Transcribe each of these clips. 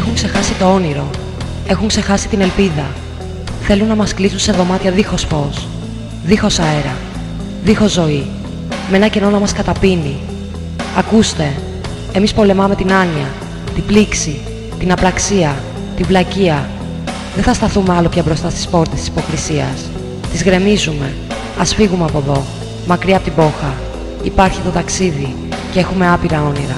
Έχουν ξεχάσει το όνειρο. Έχουν ξεχάσει την ελπίδα. Θέλουν να μας κλείσουν σε δωμάτια δίχως φως, δίχως αέρα, δίχως ζωή, με ένα κενό να μας καταπίνει. Ακούστε, εμείς πολεμάμε την άνοια, την πλήξη, την απραξία, την βλακεία. Δεν θα σταθούμε άλλο πια μπροστά στις πόρτες της υποκρισίας. Τις γκρεμίζουμε. Ας φύγουμε από εδώ, μακριά από την πόχα. Υπάρχει το ταξίδι και έχουμε άπειρα όνειρα.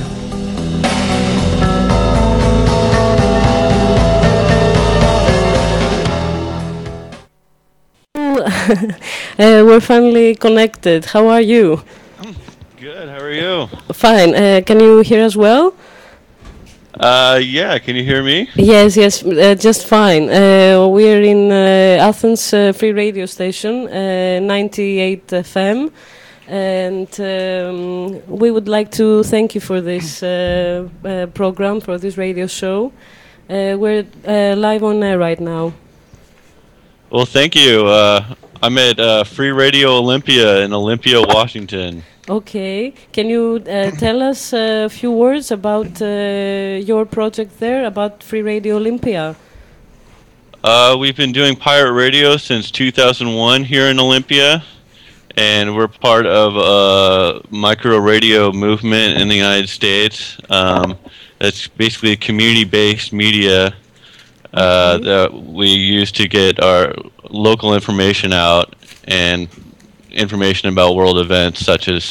We're finally connected. How are you? Good. How are you? Fine. Can you hear us well? Yeah. Can you hear me? Yes, just fine. We are in Athens Free Radio Station, 98 FM, and we would like to thank you for this program, for this radio show. We're live on air right now. Well, thank you. I'm at Free Radio Olympia in Olympia, Washington. Okay. Can you tell us a few words about your project there, about Free Radio Olympia? We've been doing pirate radio since 2001 here in Olympia, and we're part of a micro radio movement in the United States. That's basically community-based media that we use to get our local information out and information about world events such as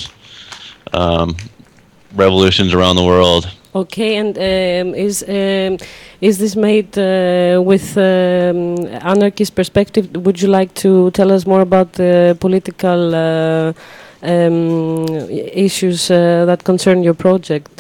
revolutions around the world. Okay, and is this made with anarchist perspective? Would you like to tell us more about the political issues that concern your project?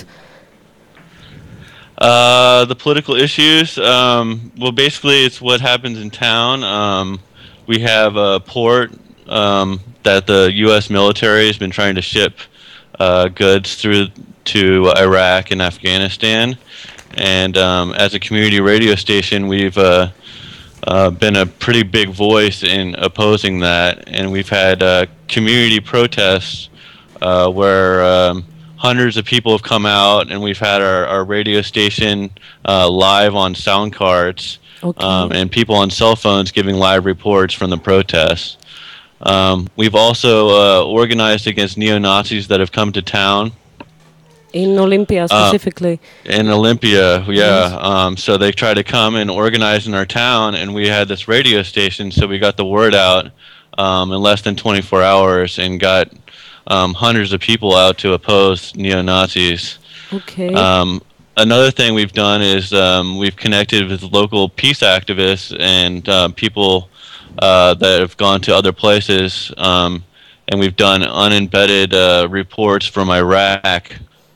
The political issues, well, basically it's what happens in town. We have a port that the U.S. military has been trying to ship goods through to Iraq and Afghanistan. And as a community radio station, we've been a pretty big voice in opposing that. And we've had community protests where hundreds of people have come out, and we've had our radio station live on sound cards, and people on cell phones giving live reports from the protests. We've also organized against neo-Nazis that have come to town. In Olympia specifically? In Olympia, yeah. So they try to come and organize in our town, and we had this radio station, so we got the word out in less than 24 hours and got hundreds of people out to oppose neo-Nazis. Okay. Another thing we've done is we've connected with local peace activists and people that have gone to other places, and we've done unembedded reports from Iraq,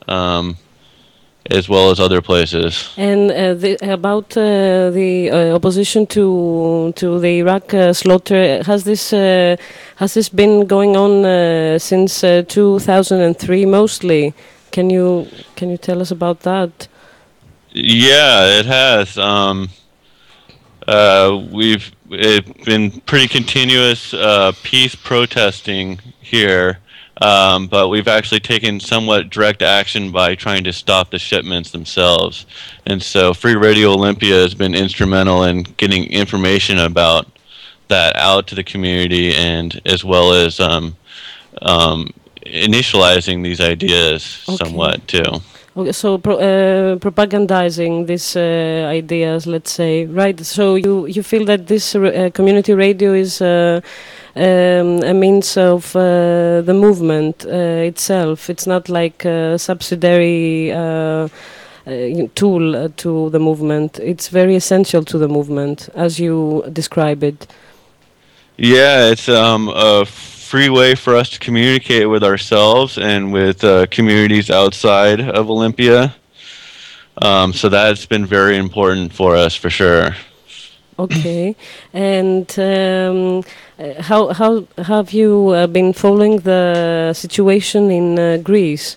as well as other places. And about the opposition to the Iraq slaughter, has this been going on since 2003 mostly? Can you tell us about that? Yeah, it has. We've been pretty continuous peace protesting here. But we've actually taken somewhat direct action by trying to stop the shipments themselves. And so Free Radio Olympia has been instrumental in getting information about that out to the community, and as well as initializing these ideas somewhat too. Okay, so propagandizing these ideas, let's say, right? So you feel that this community radio is a means of the movement itself. It's not like a subsidiary tool to the movement. It's very essential to the movement, as you describe it. Yeah, it's a free way for us to communicate with ourselves and with communities outside of Olympia. So that's been very important for us, for sure. Okay, and how have you been following the situation in Greece?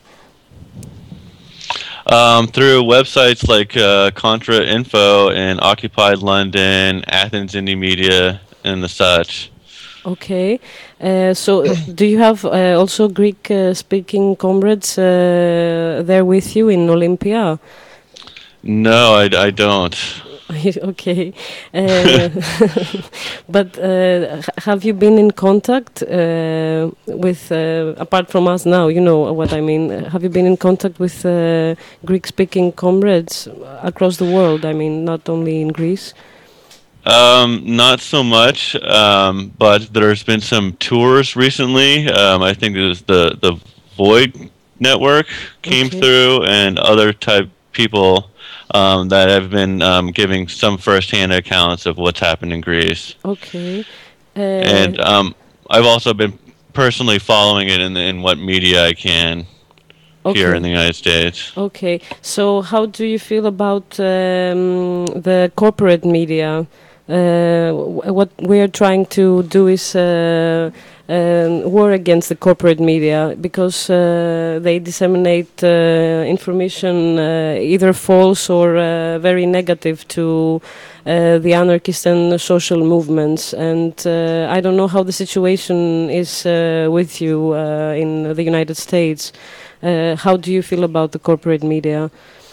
Through websites like Contra Info and Occupied London, Athens Indie Media, and the such. Okay, so do you have also Greek-speaking comrades there with you in Olympia? No, I don't. Okay. Uh, but have you been in contact with, apart from us now, you know what I mean, have you been in contact with Greek-speaking comrades across the world? I mean, not only in Greece. Not so much, but there's been some tours recently. I think it was the Void Network came Okay. through, and other type people that have been giving some firsthand accounts of what's happened in Greece. Okay. And I've also been personally following it in what media I can here in the Okay. United States. Okay. So, how do you feel about the corporate media? What we are trying to do is war against the corporate media because they disseminate information either false or very negative to the anarchist and social movements. And I don't know how the situation is with you in the United States. How do you feel about the corporate media?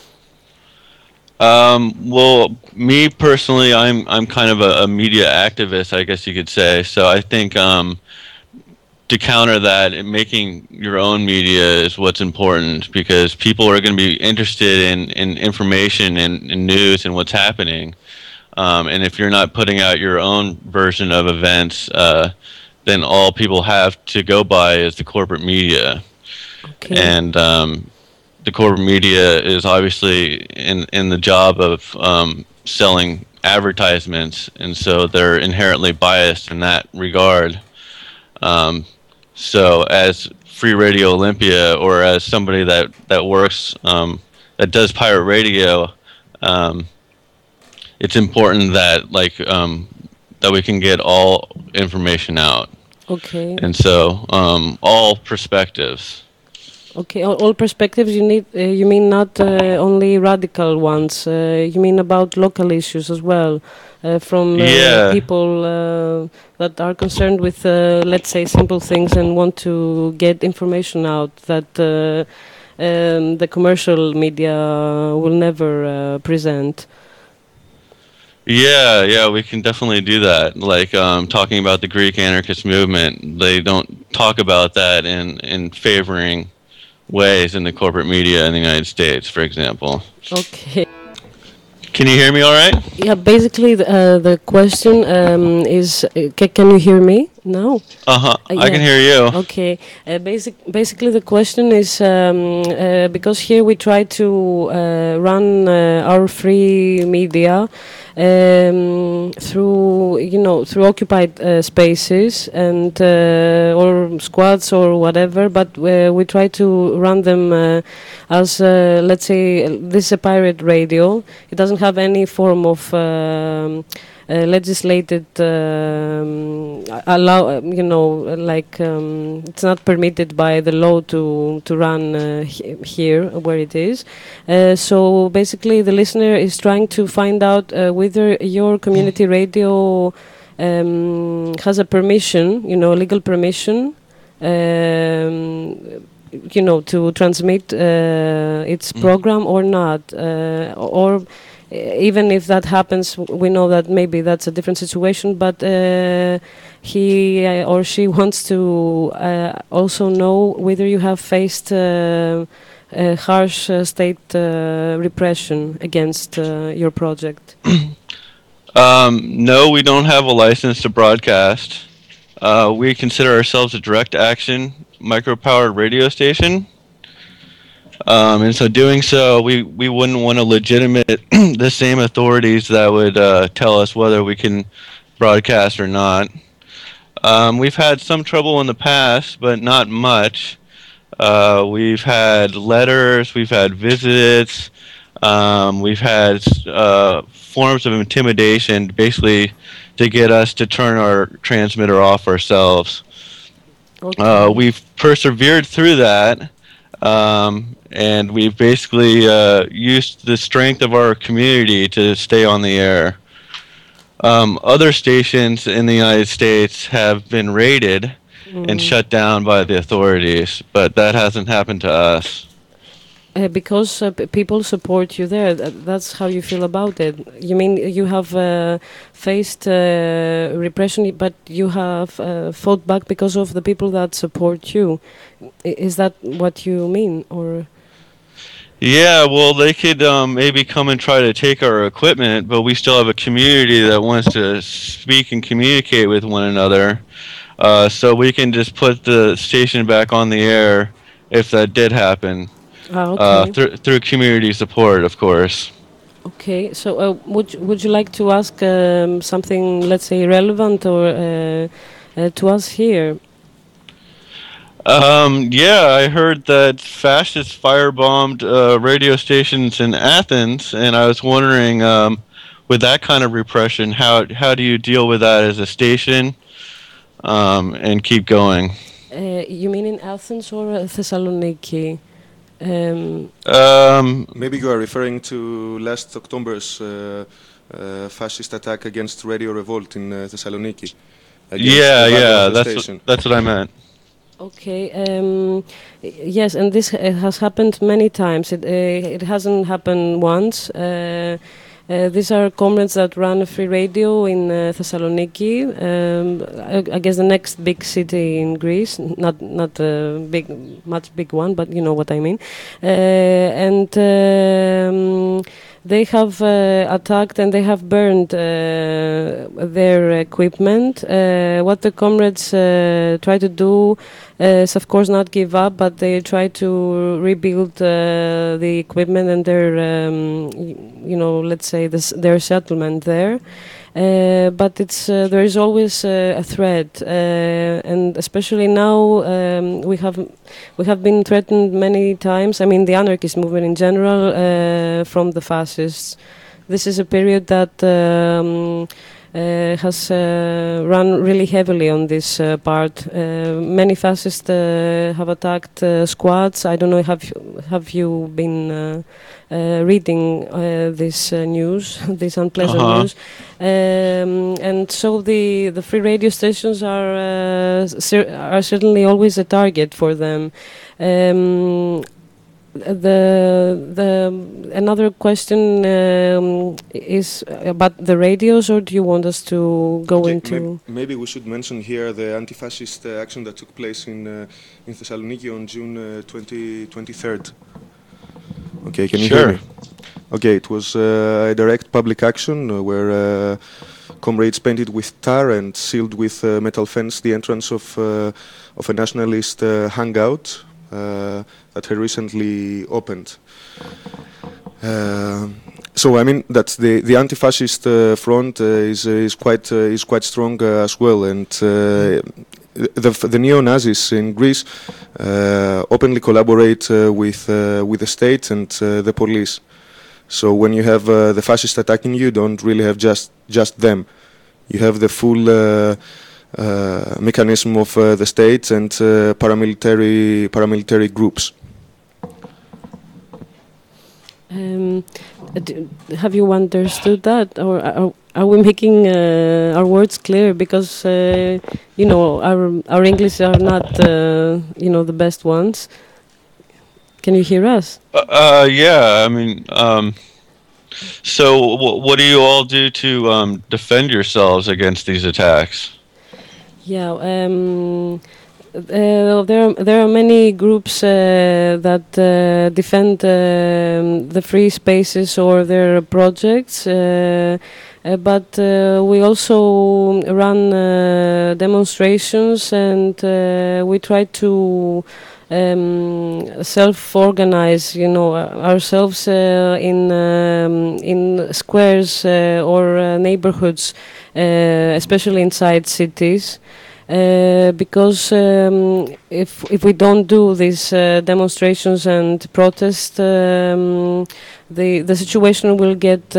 Well, me personally, I'm kind of a media activist, I guess you could say. So I think to counter that, making your own media is what's important because people are going to be interested in information and news and what's happening. And if you're not putting out your own version of events, then all people have to go by is the corporate media. Okay. And the corporate media is obviously in the job of selling advertisements, and so they're inherently biased in that regard. So as Free Radio Olympia, or as somebody that works that does pirate radio, it's important that that we can get all information out, Okay. and so all perspectives. Okay, all perspectives you need. You mean not only radical ones. You mean about local issues as well, from Yeah. people that are concerned with, let's say, simple things and want to get information out that the commercial media will never present. Yeah, we can definitely do that. Like talking about the Greek anarchist movement, they don't talk about that in favoring ways in the corporate media in the United States, for example. Okay. Can you hear me all right? Yeah, basically the question is, can you hear me now? Uh-huh. I Yeah. can hear you. Okay. Basically, the question is because here we try to run our free media through through occupied spaces and or squads or whatever, but we try to run them as let's say this is a pirate radio. It doesn't have any form of legislated allow it's not permitted by the law to run here where it is. So basically the listener is trying to find out whether your community radio has a permission, legal permission, to transmit its program or not, or even if that happens, we know that maybe that's a different situation, but he or she wants to also know whether you have faced harsh state repression against your project. No, we don't have a license to broadcast. We consider ourselves a direct action micropowered radio station. And so doing so, we wouldn't want to legitimate the same authorities that would tell us whether we can broadcast or not. We've had some trouble in the past, but not much. We've had letters, we've had visits, we've had forms of intimidation, basically to get us to turn our transmitter off ourselves. Okay. We've persevered through that. And we've basically used the strength of our community to stay on the air. Other stations in the United States have been raided and shut down by the authorities, but that hasn't happened to us. Because people support you there. That's how you feel about it. You mean you have faced repression, but you have fought back because of the people that support you. Is that what you mean, or? Yeah, well, they could maybe come and try to take our equipment, but we still have a community that wants to speak and communicate with one another. So we can just put the station back on the air if that did happen. Okay. Through community support, of course. Okay, so would you like to ask something, let's say, relevant or to us here? Yeah, I heard that fascists firebombed radio stations in Athens, and I was wondering, with that kind of repression, how do you deal with that as a station, and keep going? You mean in Athens or Thessaloniki? Maybe you are referring to last October's fascist attack against Radio Revolt in Thessaloniki. Yeah, that's what I meant. Okay. Yes, and this has happened many times. It hasn't happened once. These are comrades that run a free radio in Thessaloniki. I guess the next big city in Greece, not a much big one, but you know what I mean. And they have attacked and they have burned their equipment. What the comrades try to do is, of course, not give up, but they try to rebuild the equipment and their, let's say, their settlement there. But it's there is always a threat, and especially now we have been threatened many times. I mean, the anarchist movement in general from the fascists. This is a period that has run really heavily on this part. Many fascists have attacked squads. I don't know. Have you been reading this news, this unpleasant news? And so the free radio stations are certainly always a target for them. Another question is about the radios, or do you want us to go into? Maybe we should mention here the anti-fascist action that took place in Thessaloniki on June 23rd. Okay, can you hear me? Okay, it was a direct public action where comrades painted with tar and sealed with metal fence the entrance of a nationalist hangout that had recently opened. So I mean that the anti-fascist front is quite strong as well, and the neo-Nazis in Greece openly collaborate with the state and the police. So when you have the fascists attacking you, don't really have just them. You have the full mechanism of the state and paramilitary groups. Have you understood that, or are we making our words clear? Because our English are not the best ones. Can you hear us? Yeah, I mean, so what do you all do to defend yourselves against these attacks? Yeah, there are many groups that defend the free spaces or their projects, but we also run demonstrations, and we try to self-organize, ourselves in squares or neighborhoods, especially inside cities. Because if we don't do these demonstrations and protests, the situation will get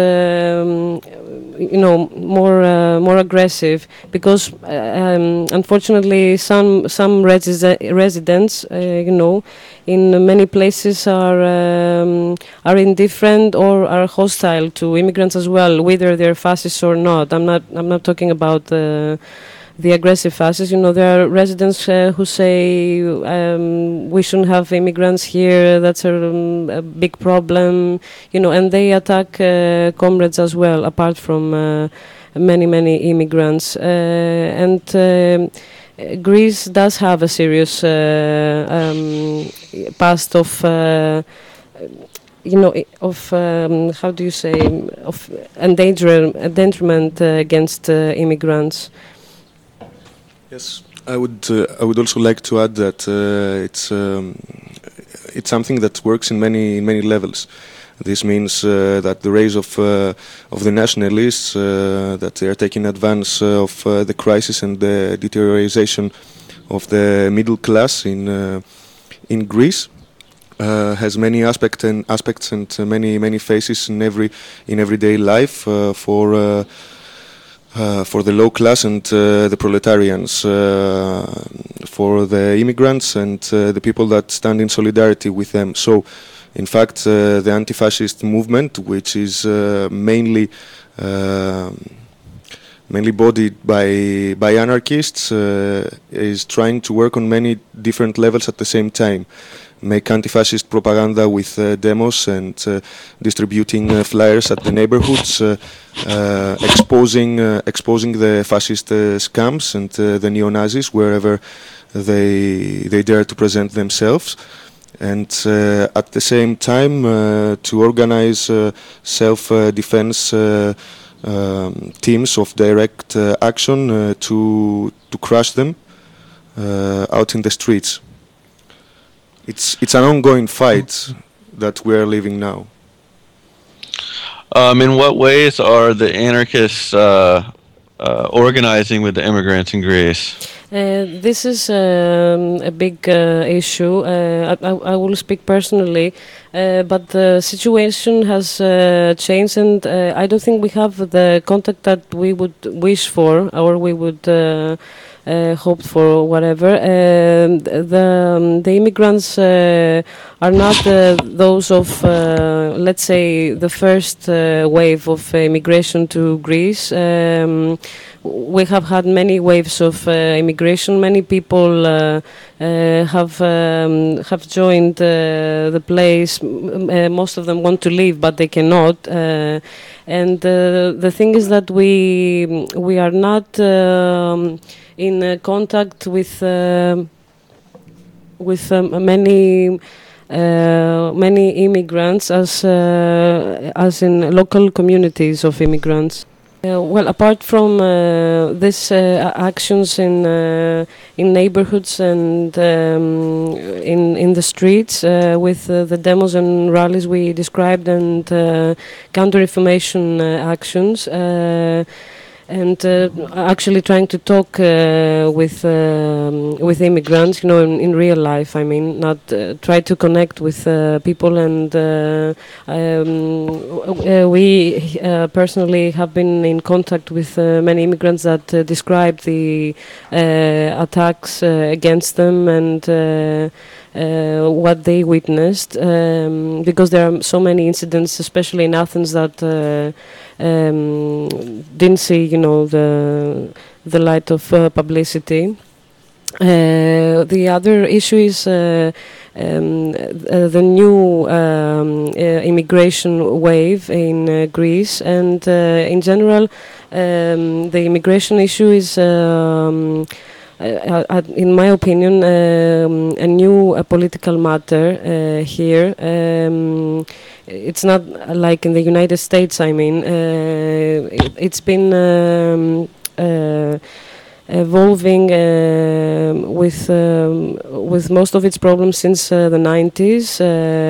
more aggressive. Because unfortunately, some residents, in many places are indifferent or are hostile to immigrants as well, whether they're fascists or not. I'm not talking about the aggressive fascists. There are residents who say we shouldn't have immigrants here. That's a big problem. And they attack comrades as well, apart from many immigrants. And Greece does have a serious past of how do you say, of endangerment against immigrants. Yes, I would also like to add that it's something that works in many levels. This means that the rise of the nationalists, that they are taking advance of the crisis and the deterioration of the middle class in Greece, has many aspects and many faces in everyday life for the low class and the proletarians, for the immigrants and the people that stand in solidarity with them. So, in fact, the anti-fascist movement, which is mainly bodied by anarchists, is trying to work on many different levels at the same time. Make anti-fascist propaganda with demos and distributing flyers at the neighborhoods, exposing the fascist scams and the neo-Nazis wherever they dare to present themselves. And at the same time to organize self-defense teams of direct action to crush them out in the streets. It's an ongoing fight that we are living now. In what ways are the anarchists organizing with the immigrants in Greece? This is a big issue. I will speak personally, but the situation has changed, and I don't think we have the contact that we would wish for, or we would hoped for, whatever. The immigrants are not those of, let's say, the first wave of immigration to Greece. We have had many waves of immigration. Many people have joined the place. Most of them want to leave, but they cannot. And the thing is that we are not in contact with many immigrants as in local communities of immigrants. Well, apart from these actions in neighborhoods and in the streets with the demos and rallies we described, and counter-information actions, and actually trying to talk with immigrants, in real life. I mean, not try to connect with people, and we personally have been in contact with many immigrants that describe the attacks against them and what they witnessed, because there are so many incidents, especially in Athens, that didn't see, the light of publicity. The other issue is the new immigration wave in Greece, and in general, the immigration issue is, in my opinion, a new political matter here. It's not like in the United States. I mean, it's been evolving with most of its problems since the 90s.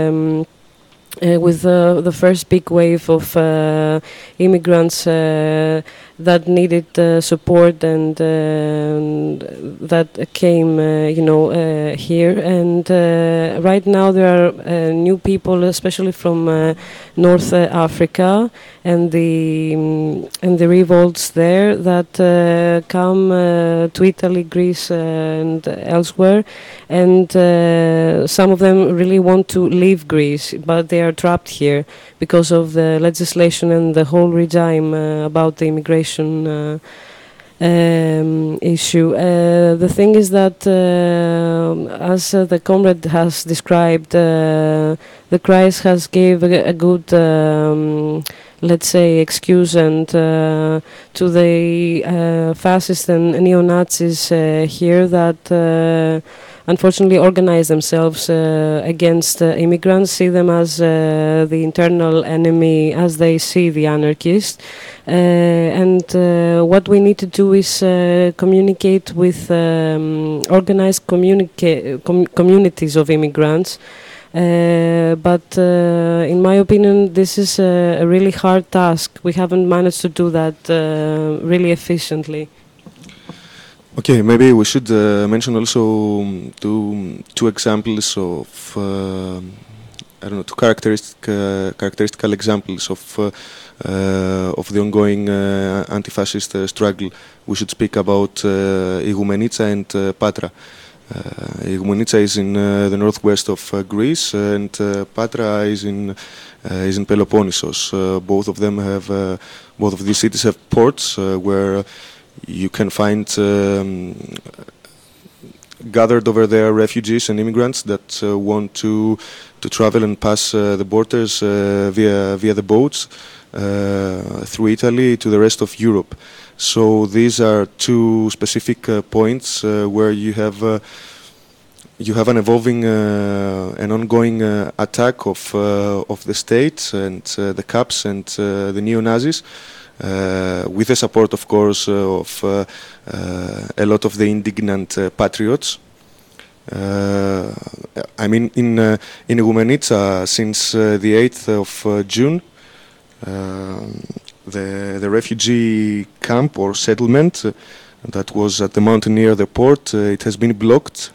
With the first big wave of immigrants that needed support, and that came, here. And right now there are new people, especially from North Africa, and the revolts there that come to Italy, Greece, and elsewhere. And some of them really want to leave Greece, but they are trapped here because of the legislation and the whole regime about the immigration issue. The thing is that, as the comrade has described, the crisis has gave a good, let's say, excuse and to the fascists and neo-Nazis here that unfortunately organize themselves against immigrants, see them as the internal enemy as they see the anarchists. And what we need to do is communicate with organized communities of immigrants. But in my opinion, this is a really hard task. We haven't managed to do that really efficiently. Okay, maybe we should mention also two examples of I don't know, two characteristical examples of the ongoing anti-fascist struggle. We should speak about Igoumenitsa and Patra. Igoumenitsa is in the northwest of Greece, and Patra is in Peloponnesos. Both of these cities have ports where you can find gathered over there refugees and immigrants that want to travel and pass the borders via the boats through Italy to the rest of Europe. So these are two specific points where you have an evolving an ongoing attack of the state and the Caps and the neo-Nazis. With the support, of course, of a lot of the indignant patriots. I mean, in Igoumenitsa, since the 8th of June, the refugee camp or settlement that was at the mountain near the port, it has been blocked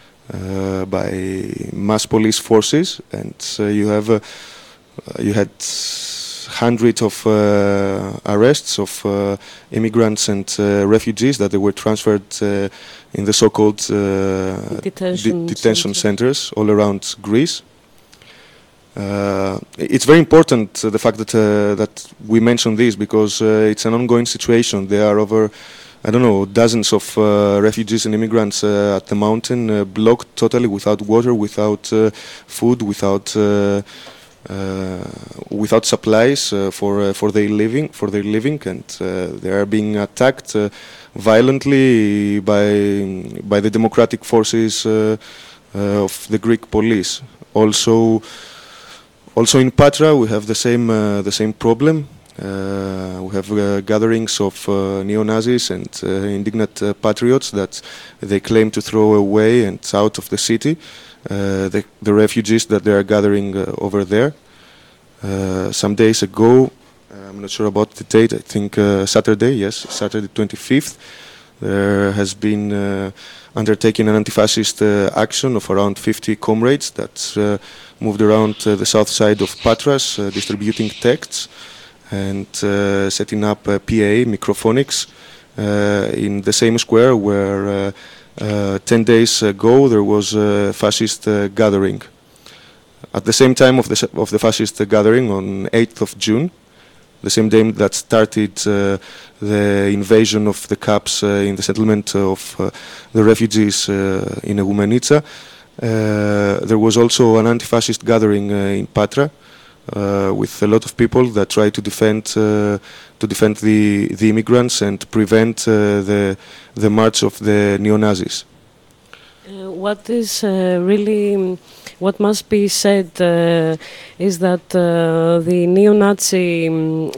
by mass police forces, and you had hundreds of arrests of immigrants and refugees that they were transferred in the so-called detention centers all around Greece. It's very important the fact that we mention this because it's an ongoing situation. There are over, I don't know, dozens of refugees and immigrants at the mountain, blocked totally, without water, without food, without supplies for their living, and they are being attacked violently by the democratic forces of the Greek police. Also in Patra we have the same problem. We have gatherings of neo-Nazis and indignant patriots that they claim to throw away and out of the city. The refugees that they are gathering over there. Some days ago, I'm not sure about the date, I think Saturday 25th, there has been undertaken an anti-fascist action of around 50 comrades that moved around the south side of Patras, distributing texts and setting up PA, microphonics, in the same square where 10 days ago there was a fascist gathering. At the same time of the fascist gathering on 8th of June, the same day that started the invasion of the Caps in the settlement of the refugees in Igoumenitsa, there was also an anti-fascist gathering in Patra with a lot of people that tried to defend the immigrants and prevent the march of the neo-Nazis. What must be said is that the neo-Nazi,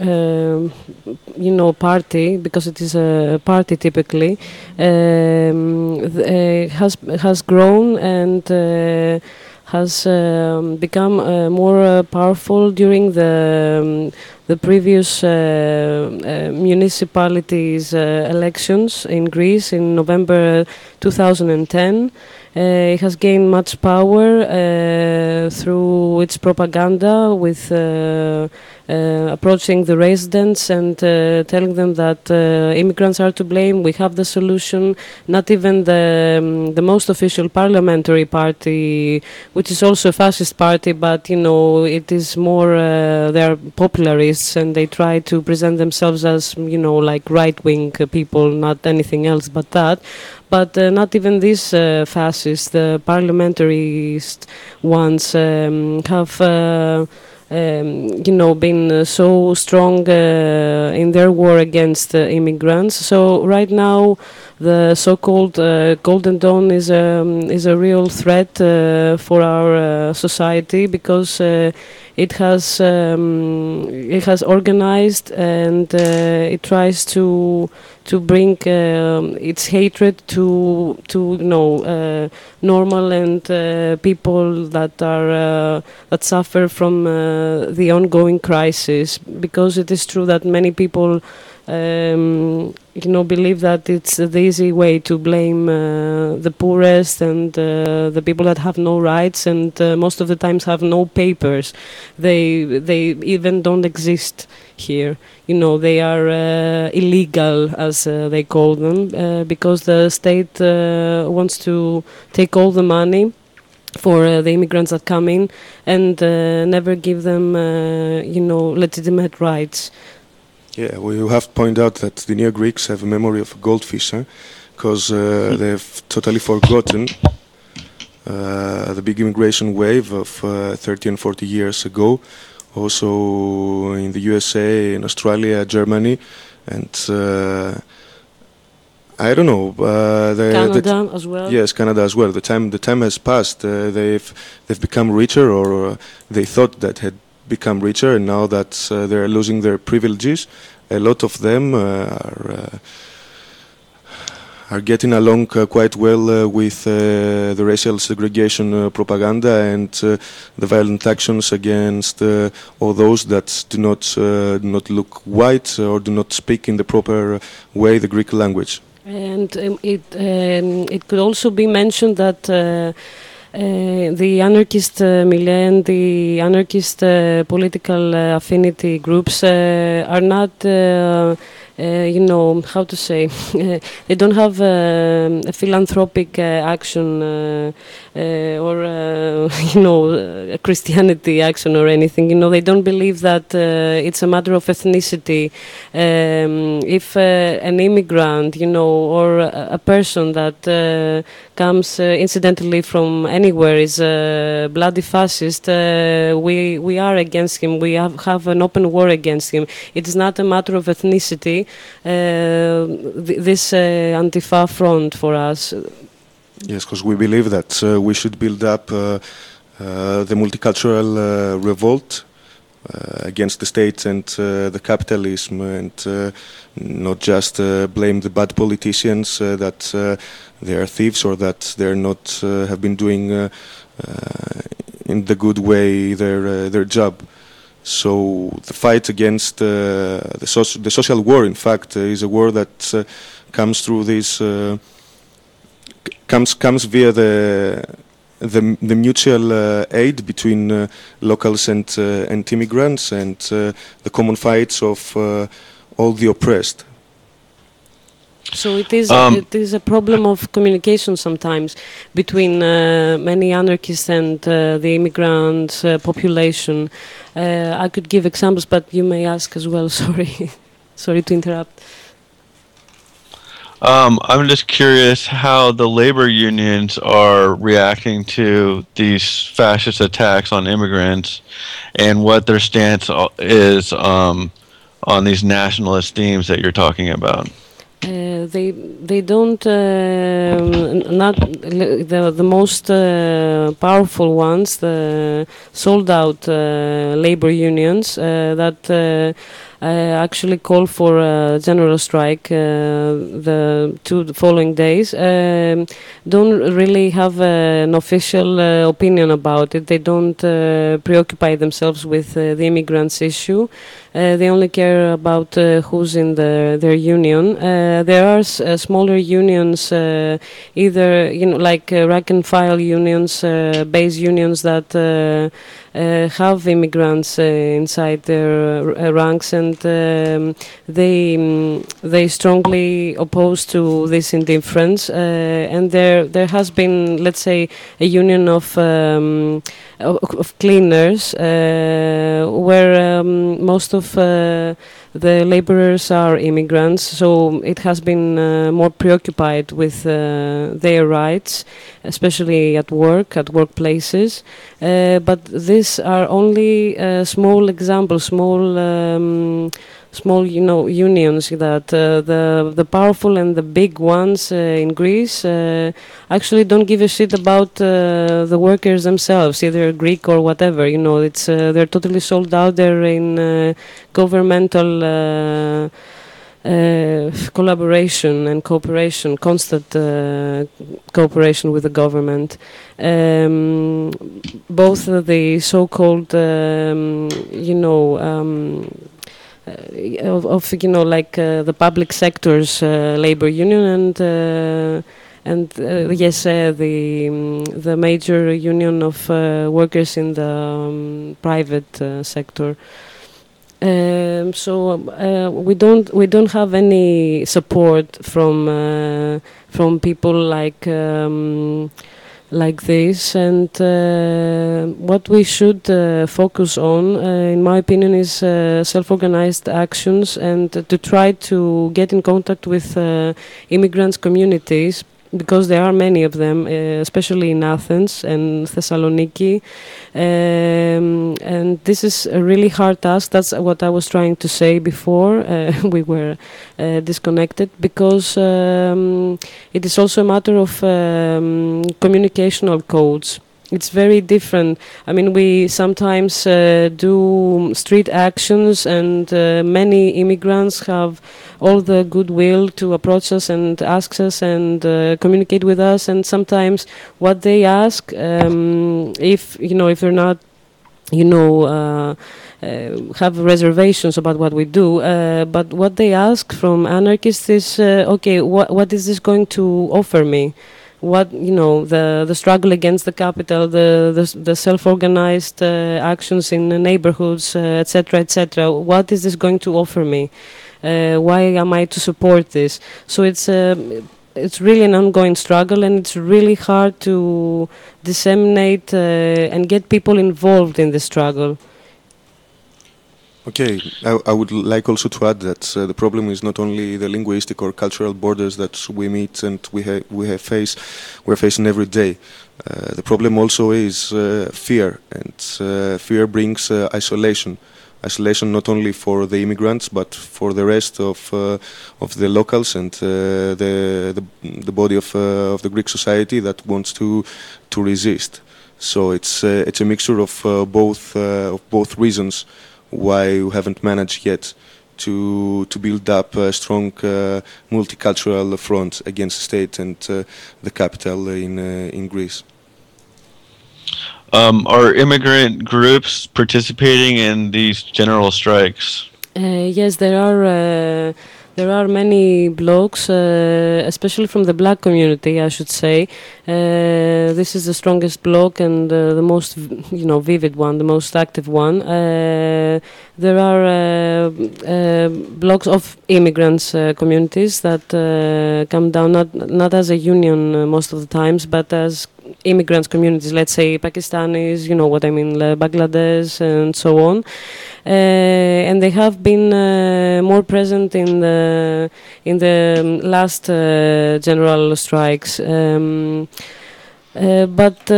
party, because it is a party typically, has grown and has become more powerful during the previous municipalities elections in Greece in November 2010. It has gained much power through its propaganda with approaching the residents and telling them that immigrants are to blame, we have the solution. Not even the most official parliamentary party, which is also a fascist party, but it is more, they are popularists, tourists, and they try to present themselves as, like right-wing people, not anything else but that. But not even these fascists, the parliamentarist ones, have been so strong in their war against immigrants. So right now, the so-called Golden Dawn is a real threat for our society, because it has organized, and it tries to bring its hatred to normal and people that are that suffer from the ongoing crisis, because it is true that many people believe that it's the easy way to blame the poorest and the people that have no rights, and most of the times have no papers. They even don't exist here. They are illegal, as they call them, because the state wants to take all the money for the immigrants that come in, and never give them legitimate rights. Yeah, we have to point out that the Neo-Greeks have a memory of a goldfish, because they've totally forgotten the big immigration wave of 30 and 40 years ago, also in the USA, in Australia, Germany, and I don't know. Canada as well. Yes, Canada as well. The time has passed. They've become richer, or they thought that had become richer, and now that they're losing their privileges, a lot of them are getting along quite well with the racial segregation propaganda and the violent actions against all those that do not look white or do not speak in the proper way the Greek language. And it could also be mentioned that the anarchist milieu and the anarchist political affinity groups are not, how to say, they don't have a philanthropic action or, a Christianity action or anything. They don't believe that it's a matter of ethnicity. If an immigrant, or a person that comes incidentally from anywhere is a bloody fascist, we are against him. We have an open war against him. It is not a matter of ethnicity, this Antifa front for us. Yes, because we believe that we should build up the multicultural revolt against the state and the capitalism, and not just blame the bad politicians that they are thieves, or that they're not have been doing in the good way their job. So the fight against the social war, in fact, is a war that comes through this comes via the mutual aid between locals and immigrants, and the common fights of all the oppressed. So it is a problem of communication sometimes between many anarchists and the immigrant population. I could give examples, but you may ask as well. Sorry to interrupt. I'm just curious how the labor unions are reacting to these fascist attacks on immigrants, and what their stance is on these nationalist themes that you're talking about. They don't not the most powerful ones, the sold out labor unions that actually call for a general strike the following days, don't really have an official opinion about it. They don't preoccupy themselves with the immigrants issue. They only care about who's in their union. There are smaller unions, either like rank and file unions, base unions that have immigrants inside their ranks, and they strongly oppose to this indifference. And there has been, let's say, a union of cleaners where most of the laborers are immigrants, so it has been more preoccupied with their rights, especially at workplaces. But these are only small examples, small, unions that the powerful and the big ones in Greece actually don't give a shit about the workers themselves, either Greek or whatever. It's they're totally sold out. They're in governmental collaboration and cooperation, constant cooperation with the government. Both the so-called, the public sector's labor union and the major union of workers in the private sector. So we don't have any support from people like this, and what we should focus on, in my opinion, is self-organized actions, and to try to get in contact with immigrants communities, because there are many of them, especially in Athens and Thessaloniki, and this is a really hard task. That's what I was trying to say before we were disconnected, because it is also a matter of communicational codes. It's very different. I mean, we sometimes do street actions, and many immigrants have all the goodwill to approach us and ask us and communicate with us. And sometimes what they ask, if they're not, have reservations about what we do, but what they ask from anarchists is, okay, what is this going to offer me? What the struggle against the capital, the self-organized actions in the neighborhoods, etc., etc. What is this going to offer me? Why am I to support this? So it's really an ongoing struggle, and it's really hard to disseminate and get people involved in the struggle. Okay, I would like also to add that the problem is not only the linguistic or cultural borders that we meet and we're facing every day. The problem also is fear, and fear brings isolation. Isolation not only for the immigrants but for the rest of the locals and the body of the Greek society that wants to resist. So it's a mixture of both reasons why we haven't managed yet to build up a strong multicultural front against the state and the capital in Greece. Are immigrant groups participating in these general strikes? Yes, there are many blogs, especially from the black community, I should say. This is the strongest blog and the most, vivid one, the most active one. There are blogs of immigrants communities that come down not as a union most of the times, but as immigrants communities, let's say Pakistanis, Bangladesh and so on. And they have been more present in the last general strikes. But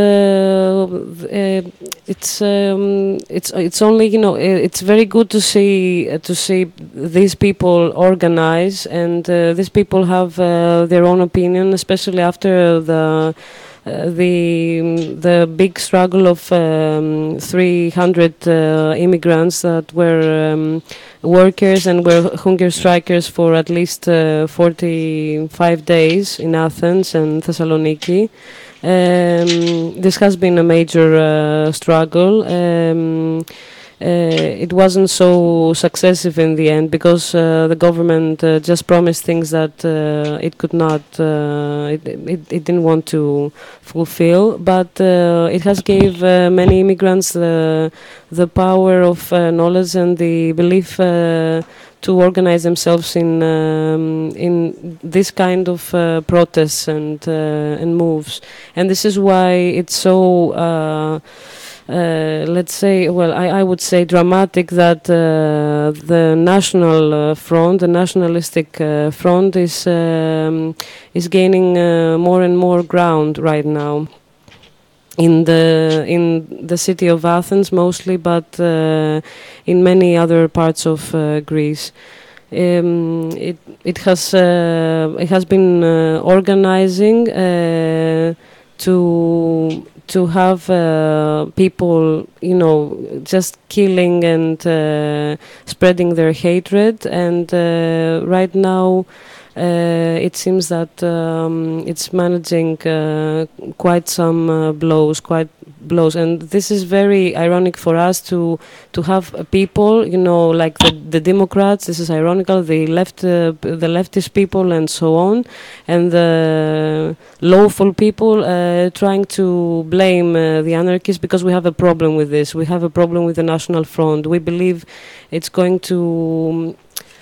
it's only it's very good to see these people organize, and these people have their own opinion, especially after the big struggle of 300 immigrants that were workers and were hunger strikers for at least 45 days in Athens and Thessaloniki. This has been a major struggle. it wasn't so successive in the end, because the government just promised things that it could not, it didn't want to fulfill. But it has gave many immigrants the power of knowledge and the belief to organize themselves in this kind of protests and moves. And this is why it's so let's say, well, I would say dramatic that the national front, the nationalistic front, is gaining more and more ground right now in the city of Athens mostly, but in many other parts of Greece. It has been organizing to have people, you know, just killing and spreading their hatred. And right now it seems that it's managing quite some blows. And this is very ironic for us to have people, you know, like the Democrats. This is ironical. The leftist people and so on, and the lawful people trying to blame the anarchists because we have a problem with this. We have a problem with the National Front. We believe it's going to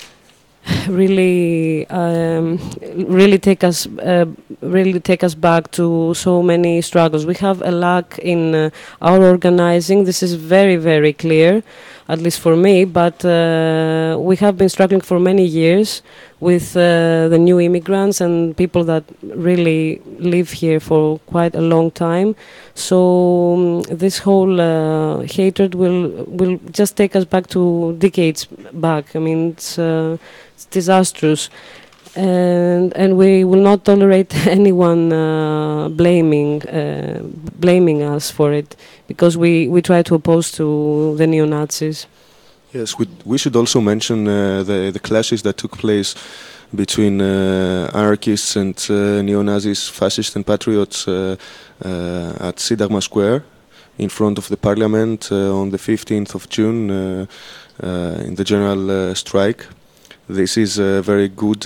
really take us back to so many struggles. We have a lack in our organizing. This is very, very clear, at least for me. But we have been struggling for many years with the new immigrants and people that really live here for quite a long time. So this whole hatred will just take us back to decades back. I mean, it's disastrous, and we will not tolerate anyone blaming us for it, because we try to oppose to the neo-Nazis. Yes, we should also mention the clashes that took place between anarchists and neo-Nazis, fascists and patriots at Syntagma Square in front of the parliament on the 15th of June in the general strike. This is a very good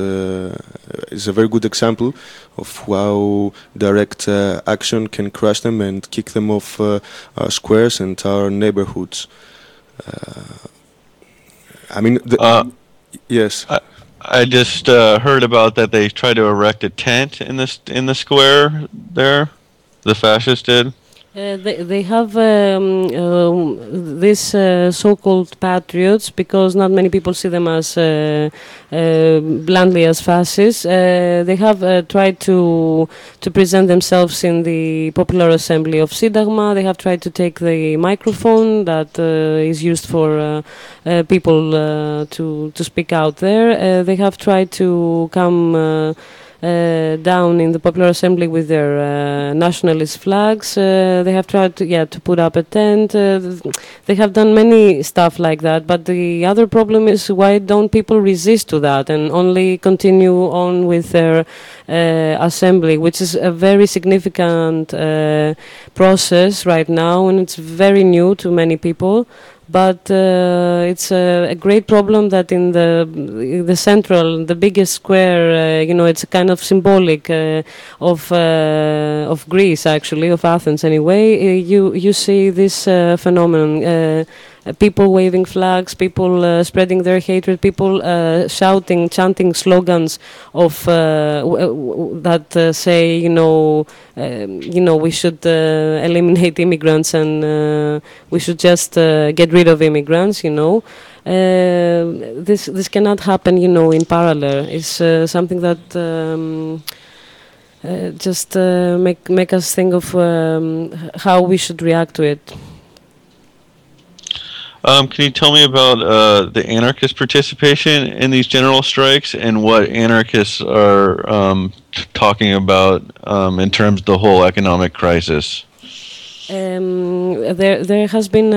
example of how direct action can crush them and kick them off our squares and our neighborhoods. I mean, yes. I just heard about that they tried to erect a tent in the square there. The fascists did. They have these so-called patriots, because not many people see them as bluntly as fascists. They have tried to present themselves in the Popular Assembly of Syntagma. They have tried to take the microphone that is used for people to speak out there. They have tried to come down in the Popular Assembly with their nationalist flags. They have tried to put up a tent. They have done many stuff like that. But the other problem is, why don't people resist to that and only continue on with their assembly, which is a very significant process right now, and it's very new to many people. But it's a great problem that in the central, the biggest square, it's a kind of symbolic of Greece, actually, of Athens anyway. You see this phenomenon. People waving flags, people spreading their hatred, people shouting, chanting slogans of that say, we should eliminate immigrants and we should just get rid of immigrants. This cannot happen, in parallel. It's something that just make us think of how we should react to it. Can you tell me about the anarchist participation in these general strikes and what anarchists are talking about in terms of the whole economic crisis? There has been.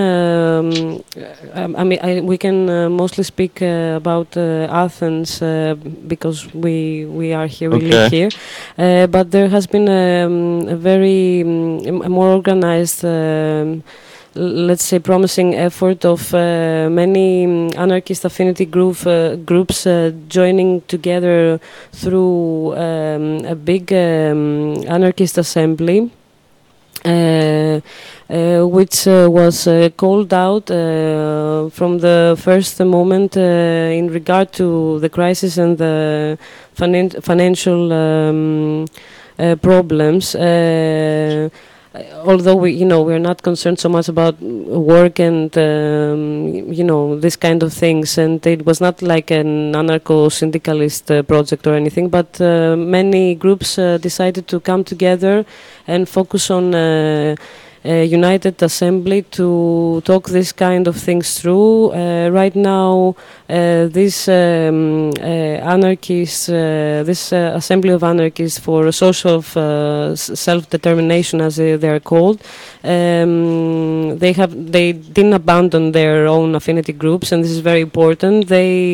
We can mostly speak about Athens because we are here, we live here. But there has been a very more organized let's say, promising effort of many anarchist affinity groups joining together through a big anarchist assembly, which was called out from the first moment in regard to the crisis and the financial problems. Although we're not concerned so much about work and this kind of things, and it was not like an anarcho-syndicalist project or anything, but many groups decided to come together and focus on a united assembly to talk this kind of things through. Right now, this anarchists, this assembly of anarchists for social self-determination, as they are called, they didn't abandon their own affinity groups, and this is very important.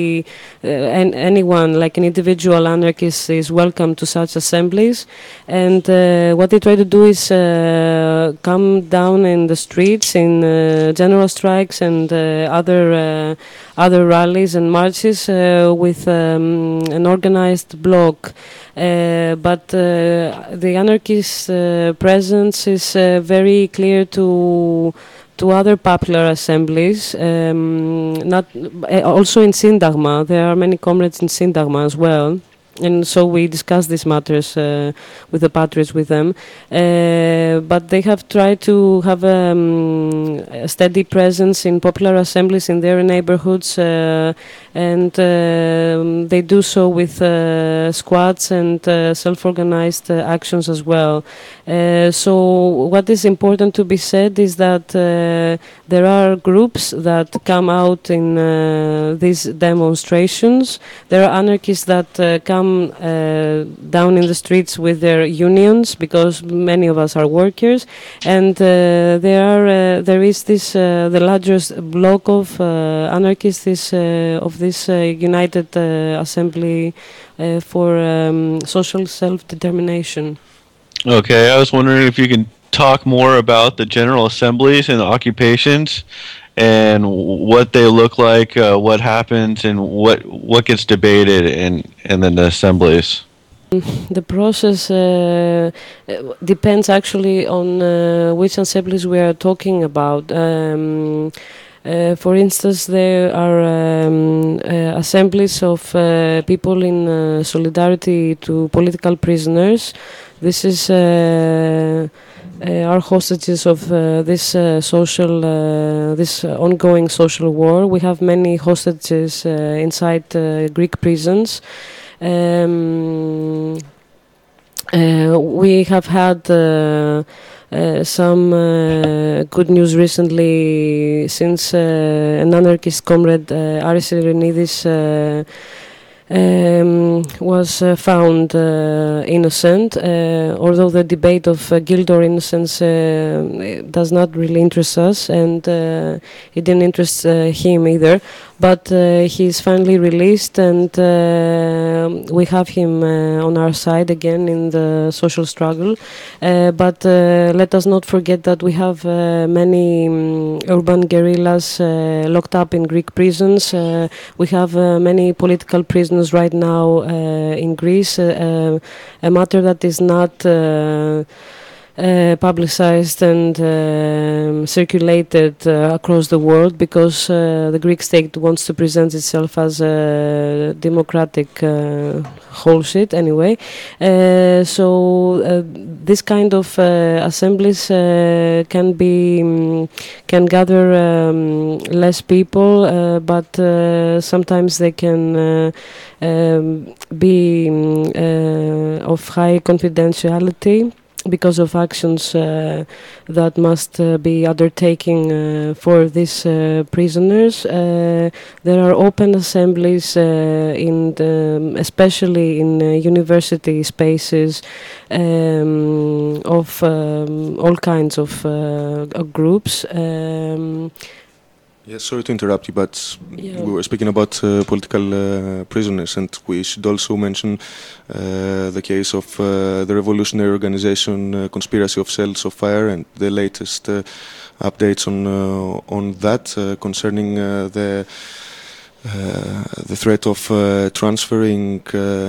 And anyone, like an individual anarchist, is welcome to such assemblies, and what they try to do is come down in the streets in general strikes and other rallies and marches with an organized bloc. But the anarchist presence is very clear to other popular assemblies. Not also in Syntagma, there are many comrades in Syntagma as well. And so we discuss these matters with the patriots with them. But they have tried to have a steady presence in popular assemblies in their neighborhoods, and they do so with squads and self-organized actions as well. So what is important to be said is that there are groups that come out in these demonstrations. There are anarchists that come down in the streets with their unions, because many of us are workers, and there is this the largest block of anarchists of this united assembly for social self-determination. Okay, I was wondering if you can talk more about the general assemblies and the occupations, and what they look like, what happens, and what gets debated in the assemblies. The process depends actually on which assemblies we are talking about. For instance, there are assemblies of people in solidarity to political prisoners. This is are hostages of this ongoing social war. We have many hostages inside Greek prisons. We have had some good news recently, since an anarchist comrade, Aris Irenidis, was found innocent, although the debate of guilt or innocence does not really interest us, and it didn't interest him either. But he is finally released, and we have him on our side again in the social struggle. But let us not forget that we have many urban guerrillas locked up in Greek prisons. We have many political prisoners right now in Greece, a matter that is not publicized and circulated across the world, because the Greek state wants to present itself as a democratic whole shit anyway. So this kind of assemblies can gather less people, but sometimes they can be of high confidentiality, because of actions that must be undertaken for these prisoners. There are open assemblies, especially in university spaces, of all kinds of groups. Yes, sorry to interrupt you, but Yeah. we were speaking about political prisoners, and we should also mention the case of the revolutionary organization Conspiracy of Cells of Fire and the latest updates on that concerning the threat of transferring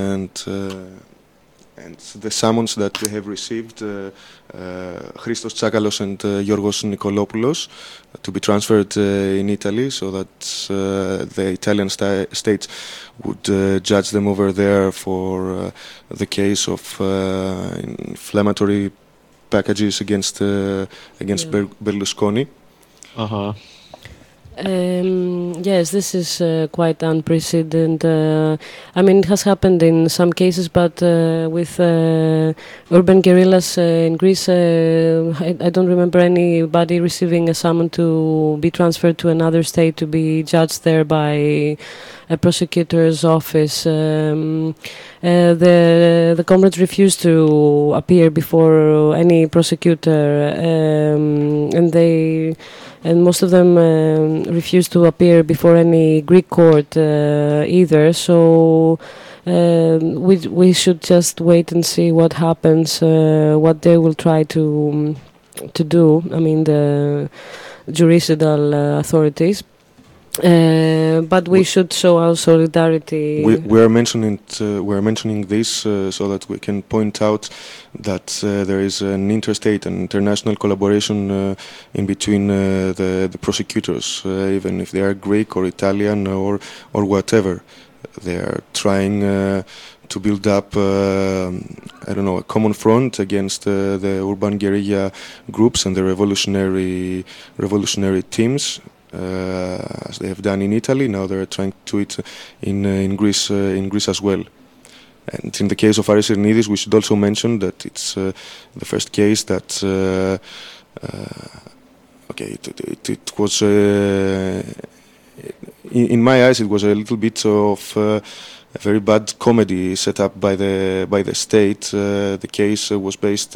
and the summons that they have received, Christos Tsakalos and Yorgos Nikolopoulos, to be transferred in Italy, so that the Italian states would judge them over there for the case of inflammatory packages against Berlusconi. Uh-huh. Yes, this is quite unprecedented. I mean, it has happened in some cases, but with urban guerrillas in Greece, I don't remember anybody receiving a summon to be transferred to another state to be judged there by a prosecutor's office. The comrades refused to appear before any prosecutor, and most of them refused to appear before any Greek court either. So we should just wait and see what happens, what they will try to do. I mean, the juridical authorities. But we should show our solidarity. We are mentioning this so that we can point out that there is an interstate and international collaboration in between the prosecutors, even if they are Greek or Italian or whatever. They are trying to build up, a common front against the urban guerrilla groups and the revolutionary teams. As they have done in Italy, now they're trying to do it in Greece as well. And in the case of Aris Ernidis, we should also mention that it's the first case that it was in my eyes it was a little bit of a very bad comedy set up by the state. The case was based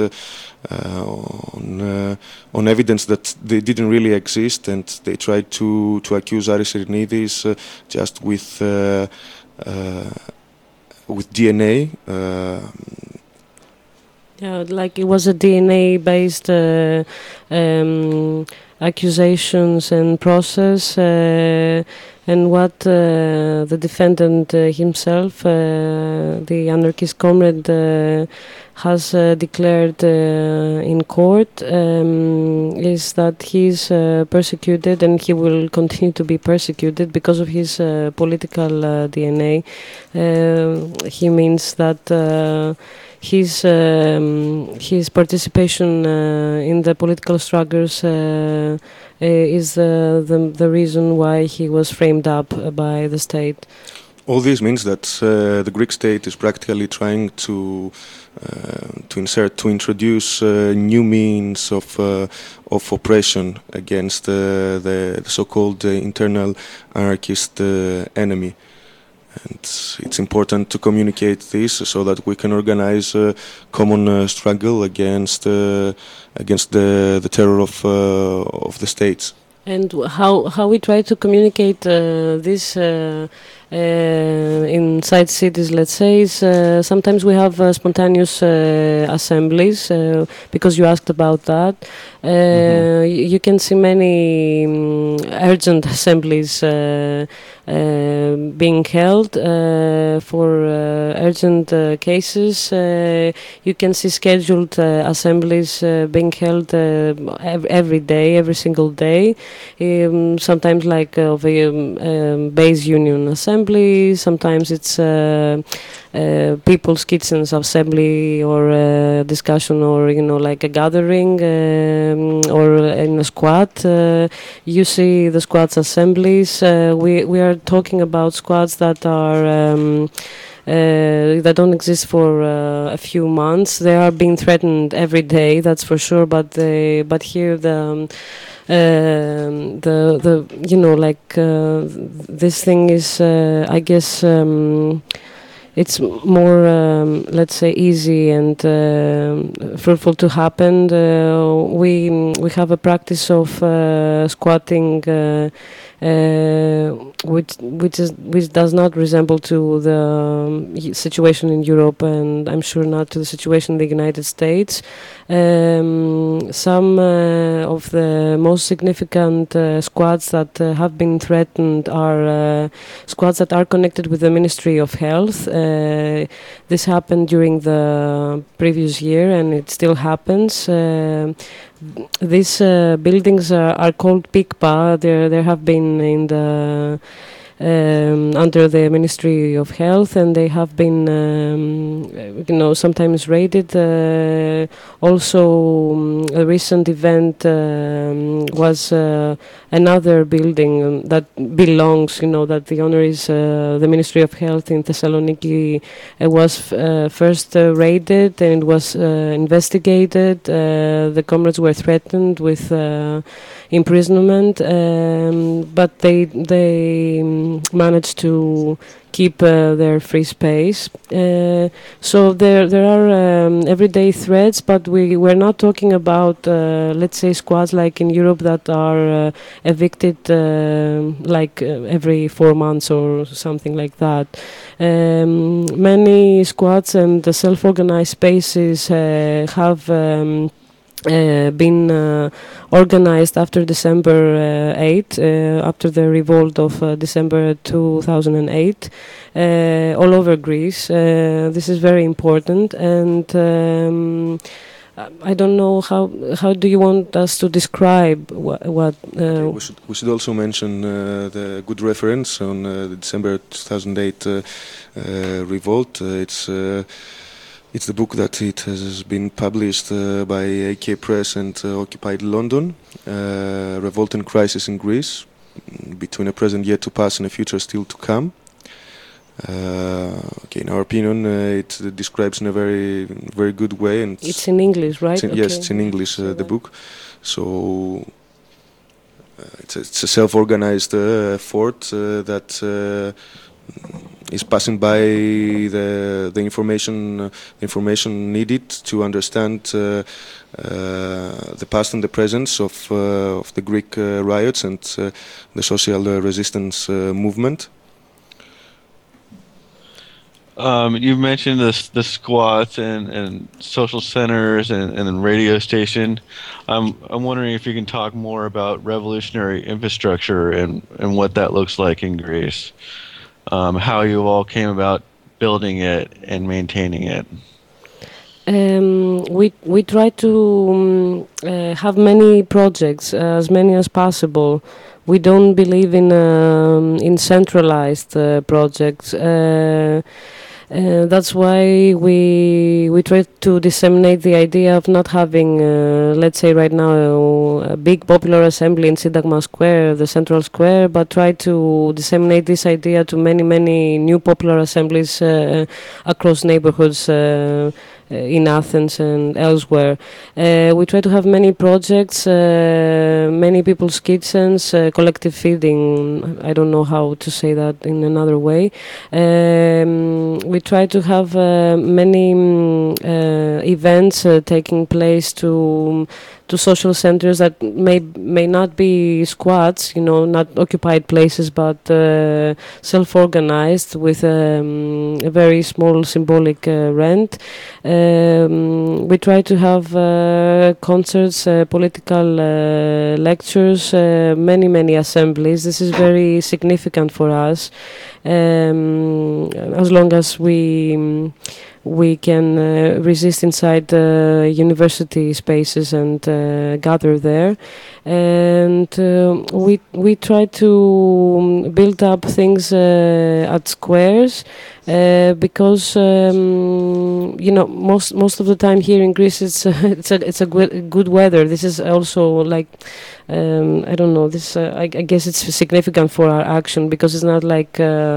on evidence that they didn't really exist, and they tried to accuse Aris Ernidis just with DNA. Yeah, like it was a DNA-based accusations and process, and what the defendant himself, the anarchist comrade, has declared in court is that he's persecuted, and he will continue to be persecuted because of his political DNA. He means that his participation in the political struggles is the reason why he was framed up by the state. All this means that the Greek state is practically trying to introduce new means of oppression against the so-called internal anarchist enemy. And it's important to communicate this so that we can organize a common struggle against the terror of the states. And how we try to communicate this inside cities, let's say, is sometimes we have spontaneous assemblies, because you asked about that. You can see many urgent assemblies being held for urgent cases. You can see scheduled assemblies being held every day, every single day. Sometimes like of a base union assembly, sometimes it's people's kitchens assembly, or discussion, or like a gathering, or in a squad. You see the squads assemblies. We are talking about squads that are that don't exist for a few months. They are being threatened every day, that's for sure. But here this thing is, I guess, it's more, let's say, easy and fruitful to happen. We have a practice of squatting, which does not resemble to the situation in Europe, and I'm sure not to the situation in the United States. Some of the most significant squads that have been threatened are squads that are connected with the Ministry of Health. This happened during the previous year, and it still happens. These buildings are called PICPA. There have been in the under the Ministry of Health, and they have been, sometimes raided. Also, a recent event was another building that belongs, that the owner is the Ministry of Health in Thessaloniki. It was first raided, and it was investigated. The comrades were threatened with imprisonment, but they managed to keep their free space. So there are everyday threats, but we're not talking about, let's say, squads like in Europe that are evicted every 4 months or something like that. Many squads and the self-organized spaces have been organized after December 8, after the revolt of December 2008, all over Greece. This is very important, and I don't know how do you want us to describe what we should also mention the good reference on the December 2008 revolt. It's the book that it has been published by AK Press and Occupied London, Revolt and Crisis in Greece, between a present yet to pass and a future still to come. In our opinion, it describes in a very, very good way. And it's in English, right? Yes, it's in English, the book. So it's a self-organized fort that is passing by the information needed to understand the past and the present of the Greek riots and the social resistance movement. You mentioned the squats and social centers and radio station. I'm wondering if you can talk more about revolutionary infrastructure and what that looks like in Greece. How you all came about building it and maintaining it. We try to have many projects, as many as possible. We don't believe in centralized projects. That's why we try to disseminate the idea of not having, let's say right now, a big popular assembly in Syntagma Square, the central square, but try to disseminate this idea to many new popular assemblies across neighborhoods in Athens and elsewhere. We try to have many projects, many people's kitchens, collective feeding. I don't know how to say that in another way. We try to have many events taking place to social centers that may not be squats, not occupied places, but self-organized with a very small symbolic rent. We try to have concerts, political lectures, many assemblies. This is very significant for us. As long as we can resist inside university spaces and gather there, and we try to build up things at squares because most of the time here in Greece it's a good weather. This is also like I don't know. This I guess it's significant for our action because it's not like.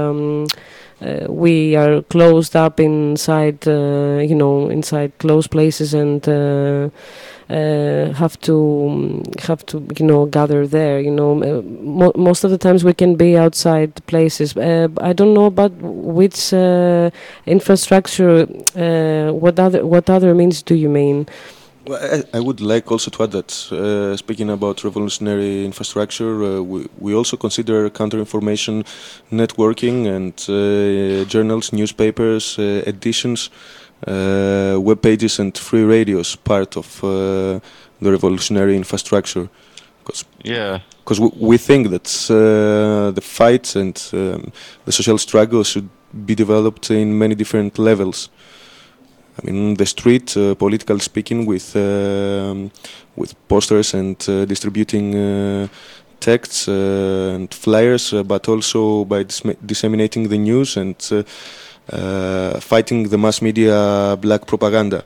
We are closed up inside, inside closed places and have to gather there. Most of the times we can be outside places. I don't know about which infrastructure. What other means do you mean? Well, I would like also to add that speaking about revolutionary infrastructure, we also consider counter-information networking and journals, newspapers, editions, web pages and free radios part of the revolutionary infrastructure. Because we think that the fight and the social struggle should be developed in many different levels. I mean, the street, politically speaking, with posters and distributing texts and flyers, but also by disseminating the news and fighting the mass media black propaganda.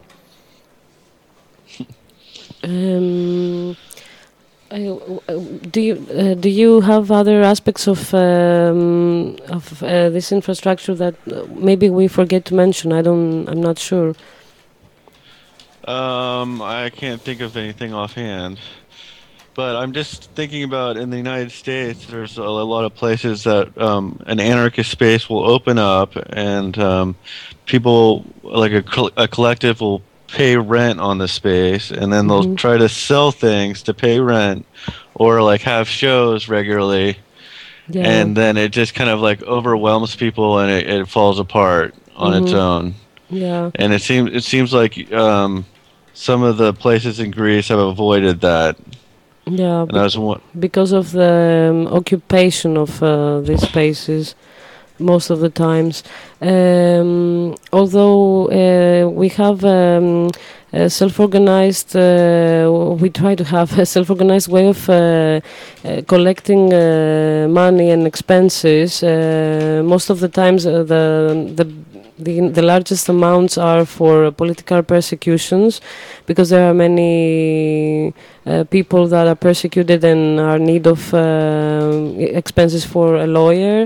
Do you have other aspects of this infrastructure that maybe we forget to mention? I'm not sure. I can't think of anything offhand, but I'm just thinking about in the United States. There's a lot of places that an anarchist space will open up, and people like a collective will pay rent on the space, and then they'll try to sell things to pay rent, or like have shows regularly, and then it just kind of like overwhelms people, and it falls apart on its own. Yeah, and it seems like some of the places in Greece have avoided that. Yeah, and because of the occupation of these spaces. Most of the times, although we have self-organized, we try to have a self-organized way of collecting money and expenses. Most of the times, the largest amounts are for political persecutions, because there are many people that are persecuted and are in need of expenses for a lawyer,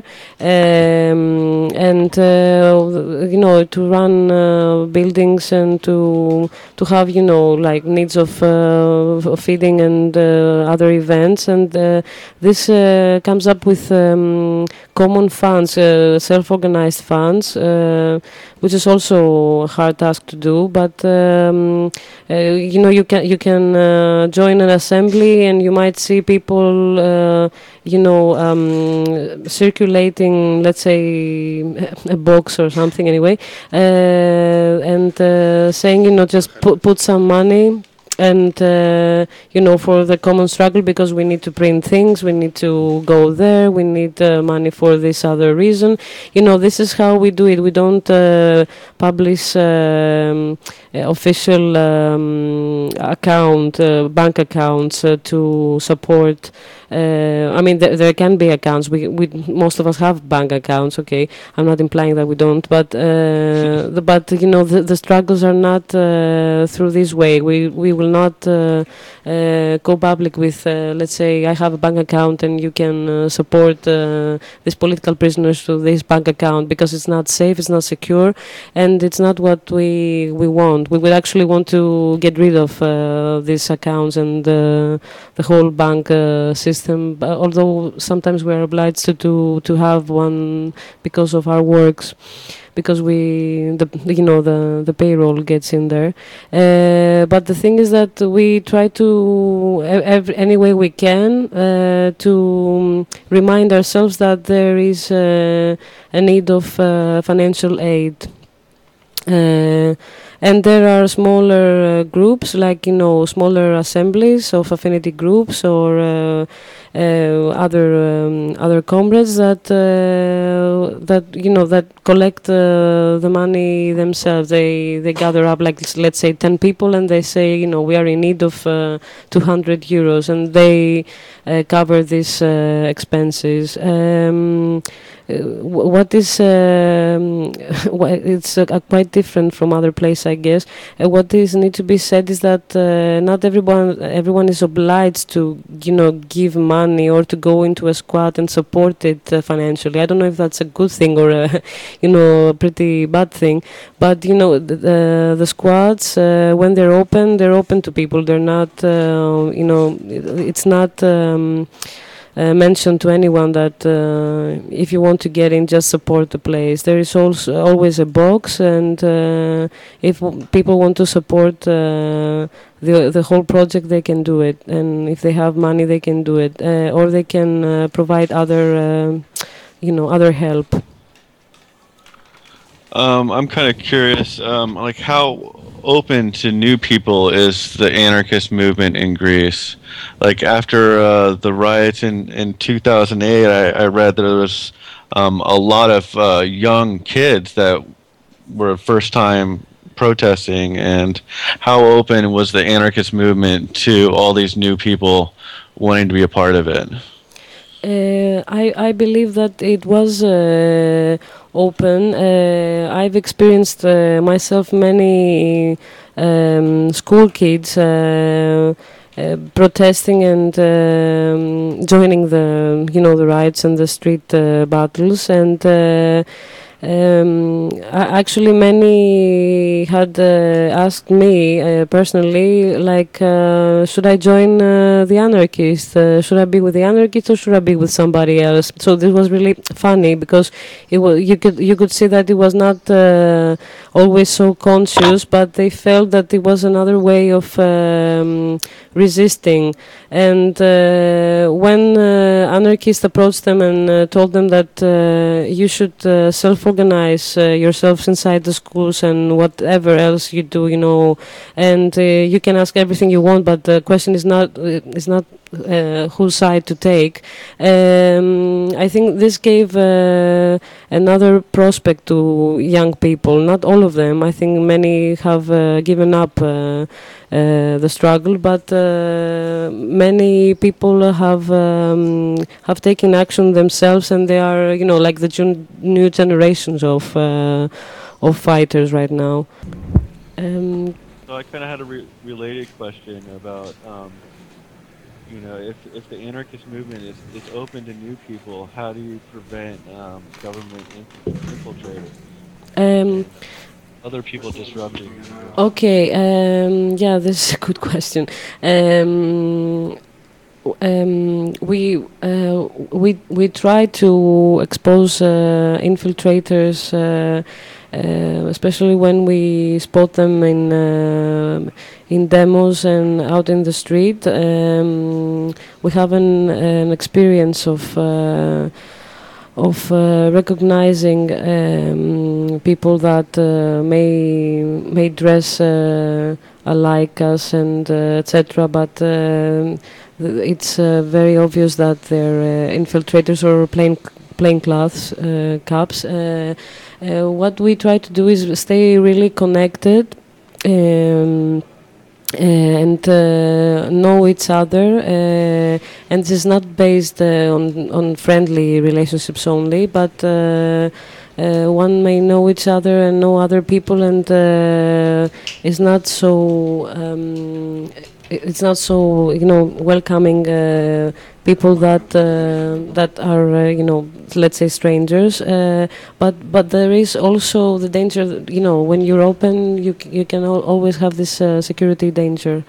and to run buildings and to have like needs of feeding and other events, and this comes up with common funds, self-organized funds, which is also a hard task to do, but you can join an assembly, and you might see people circulating, let's say, a box or something anyway, and saying, just put some money, and for the common struggle, because we need to print things, we need to go there, we need money for this other reason. This is how we do it. We don't publish official bank accounts to support. I mean, there can be accounts. We most of us have bank accounts. Okay, I'm not implying that we don't, but the struggles are not through this way. We will not go public with, let's say, I have a bank account and you can support these political prisoners through this bank account, because it's not safe, it's not secure, and it's not what we want. We would actually want to get rid of these accounts and the whole bank system, although sometimes we are obliged to have one because of our works, because the payroll gets in there. But the thing is that we try to any way we can to remind ourselves that there is a need of financial aid. And there are smaller groups, like smaller assemblies of affinity groups or other comrades that collect the money themselves. They gather up, like, let's say 10 people, and they say, we are in need of 200 euros, and they cover these expenses. what is it's quite different from other places, I guess. What is need to be said is that not everyone is obliged to give money or to go into a squad and support it financially. I don't know if that's a good thing or a a pretty bad thing, but the squads when they're open to people. They're not it's not mentioned to anyone that if you want to get in, just support the place. There is also always a box, and if people want to support the whole project, they can do it. And if they have money, they can do it, or they can provide other other help. I'm kind of curious, like how open to new people is the anarchist movement in Greece? Like after the riots in 2008, I read that there was a lot of young kids that were first time protesting, and how open was the anarchist movement to all these new people wanting to be a part of it? I believe that it was open. I've experienced myself many school kids protesting and joining the riots and the street battles, and actually many had asked me personally, like, should I join the anarchists? Should I be with the anarchists or should I be with somebody else? So this was really funny because it was, you could see that it was not always so conscious, but they felt that it was another way of resisting. And when anarchists approached them and told them that you should self-organize yourselves inside the schools and whatever else you do, and you can ask everything you want, but the question is not whose side to take. I think this gave another prospect to young people. Not all of them. I think many have given up the struggle, but many people have taken action themselves, and they are, like the new generations of fighters right now. So I kind of had a related question about, if the anarchist movement is open to new people, how do you prevent government infiltrators? Other people disrupting. Okay, yeah, this is a good question. We try to expose infiltrators, especially when we spot them in demos and out in the street. We have an experience of recognizing people that may dress alike us and etc. But it's very obvious that they're infiltrators or plainclothes cops. What we try to do is stay really connected and know each other, and this is not based on friendly relationships only, but one may know each other and know other people, and is not so it's not so welcoming people that are let's say strangers, but there is also the danger that, when you're open, you can always have this security danger.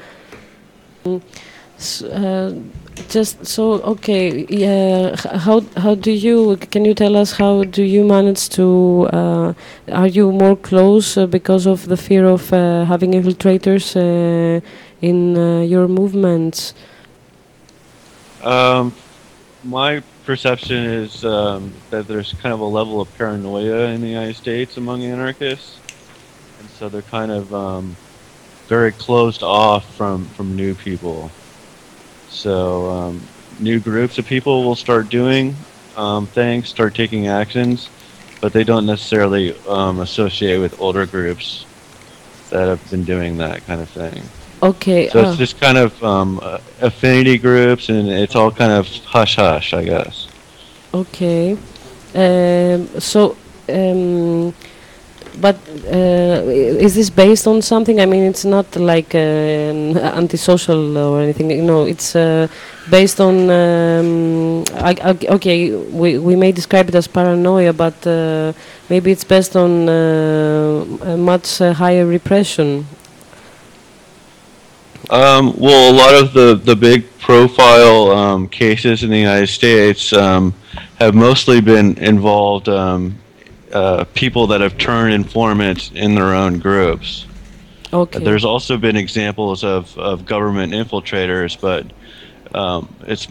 Okay, yeah. How do you? Can you tell us how do you manage to? Are you more close because of the fear of having infiltrators in your movements? My perception is that there's kind of a level of paranoia in the United States among anarchists, and so they're kind of very closed off from new people. So new groups of people will start doing things, start taking actions, but they don't necessarily associate with older groups that have been doing that kind of thing. Okay. So it's just kind of affinity groups, and it's all kind of hush-hush, I guess. Okay. So. But is this based on something? I mean, it's not like antisocial or anything. It's based on. Okay, we may describe it as paranoia, but maybe it's based on a much higher repression. Well, a lot of the big profile cases in the United States have mostly been involved. People that have turned informants in their own groups. Okay. There's also been examples of government infiltrators, but it's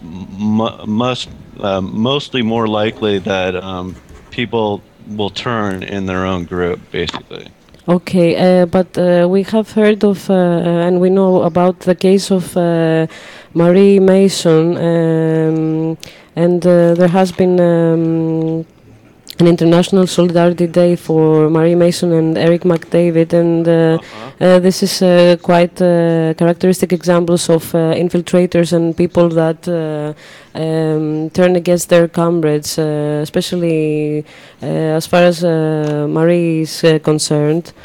mostly more likely that people will turn in their own group, basically. Okay, but we have heard of and we know about the case of Marie Mason, and there has been an International Solidarity Day for Marie Mason and Eric McDavid, and this is quite characteristic examples of infiltrators and people that turn against their comrades, especially as far as Marie is concerned.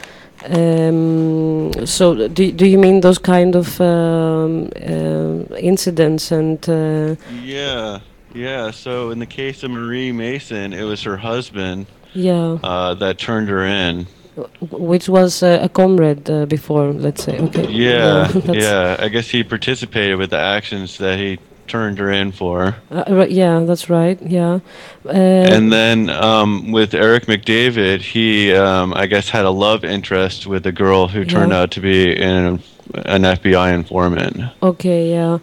So do you mean those kind of incidents and Yeah, so in the case of Marie Mason, it was her husband that turned her in. Which was a comrade before, let's say. Okay. Yeah. I guess he participated with the actions that he turned her in for. Yeah, that's right, yeah. And then with Eric McDavid, he, I guess, had a love interest with a girl who turned out to be an FBI informant. Okay, yeah.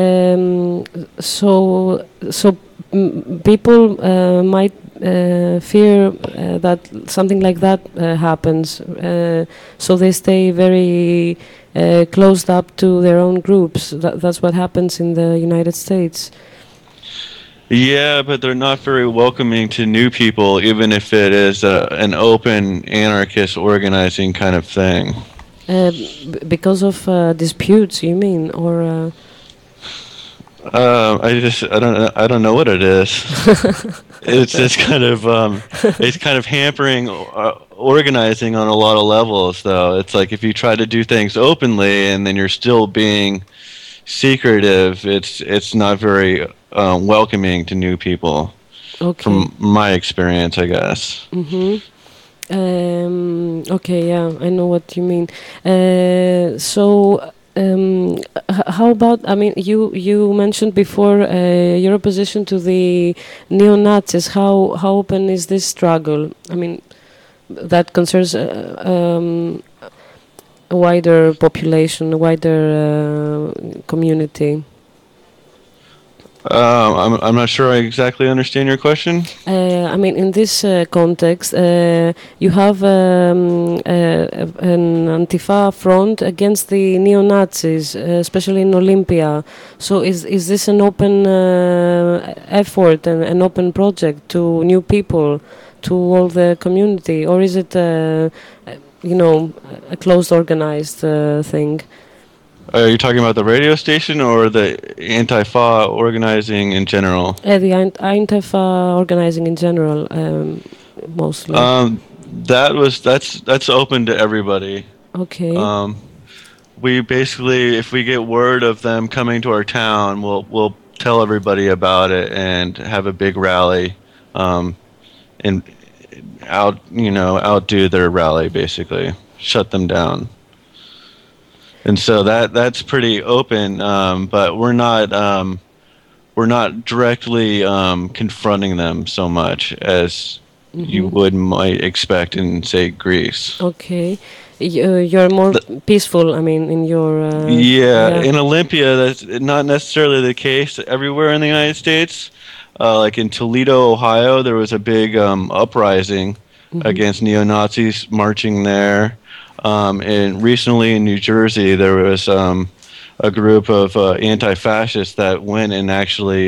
So people might fear that something like that happens, so they stay very closed up to their own groups. That's what happens in the United States. Yeah, but they're not very welcoming to new people, even if it is an open anarchist organizing kind of thing. Because of disputes, you mean, or? I don't know what it is. It's just kind of it's kind of hampering organizing on a lot of levels, though. It's like if you try to do things openly and then you're still being secretive, it's not very welcoming to new people. Okay. From my experience, I guess. Mm-hmm. Okay, yeah, I know what you mean. How about, I mean, you mentioned before your opposition to the neo-Nazis. How open is this struggle? I mean, that concerns a wider population, a wider community. I'm not sure I exactly understand your question. I mean, in this context, you have an Antifa front against the neo-Nazis, especially in Olympia. So is this an open effort and an open project to new people, to all the community, or is it, a closed, organized thing? Are you talking about the radio station or the Antifa organizing in general? The Antifa organizing in general, mostly. That's open to everybody. Okay. We basically, if we get word of them coming to our town, we'll tell everybody about it and have a big rally, and outdo their rally, basically shut them down. And so that's pretty open, but we're not directly confronting them so much as you might expect in, say, Greece. Okay, you're more peaceful. I mean, in your in Olympia, that's not necessarily the case everywhere in the United States. Like in Toledo, Ohio, there was a big uprising against neo-Nazis marching there. And recently in New Jersey, there was a group of anti-fascists that went and actually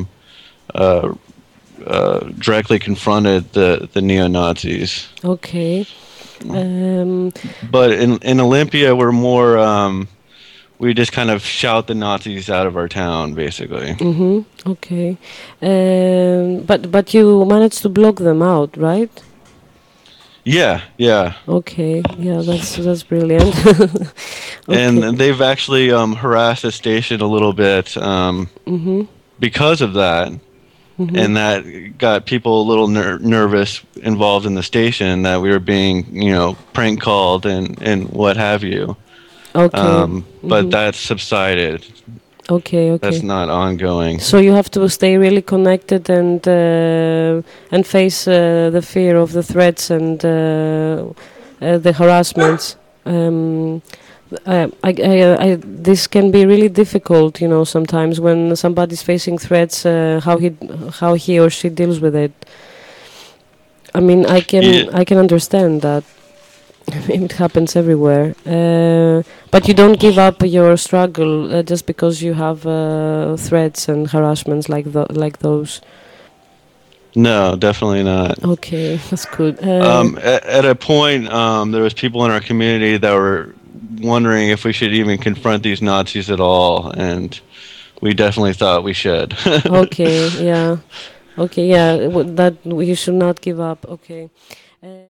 directly confronted the neo-Nazis. Okay. But in Olympia, we're we just kind of shout the Nazis out of our town, basically. Mm-hmm. Okay. But you managed to block them out, right? Yeah. Okay. Yeah, that's brilliant. And Okay. they've actually harassed the station a little bit Mm-hmm. because of that. Mm-hmm. And that got people a little nervous involved in the station, that we were being, prank called and what have you. Okay. But that's subsided. Okay. That's not ongoing. So you have to stay really connected and face the fear of the threats and the harassments. This can be really difficult, sometimes when somebody's facing threats. How he or she deals with it. I mean, I can understand that. It happens everywhere, but you don't give up your struggle just because you have threats and harassments like those. No, definitely not. Okay, that's good. At a point, there was people in our community that were wondering if we should even confront these Nazis at all, and we definitely thought we should. Okay, yeah, that you should not give up. Okay.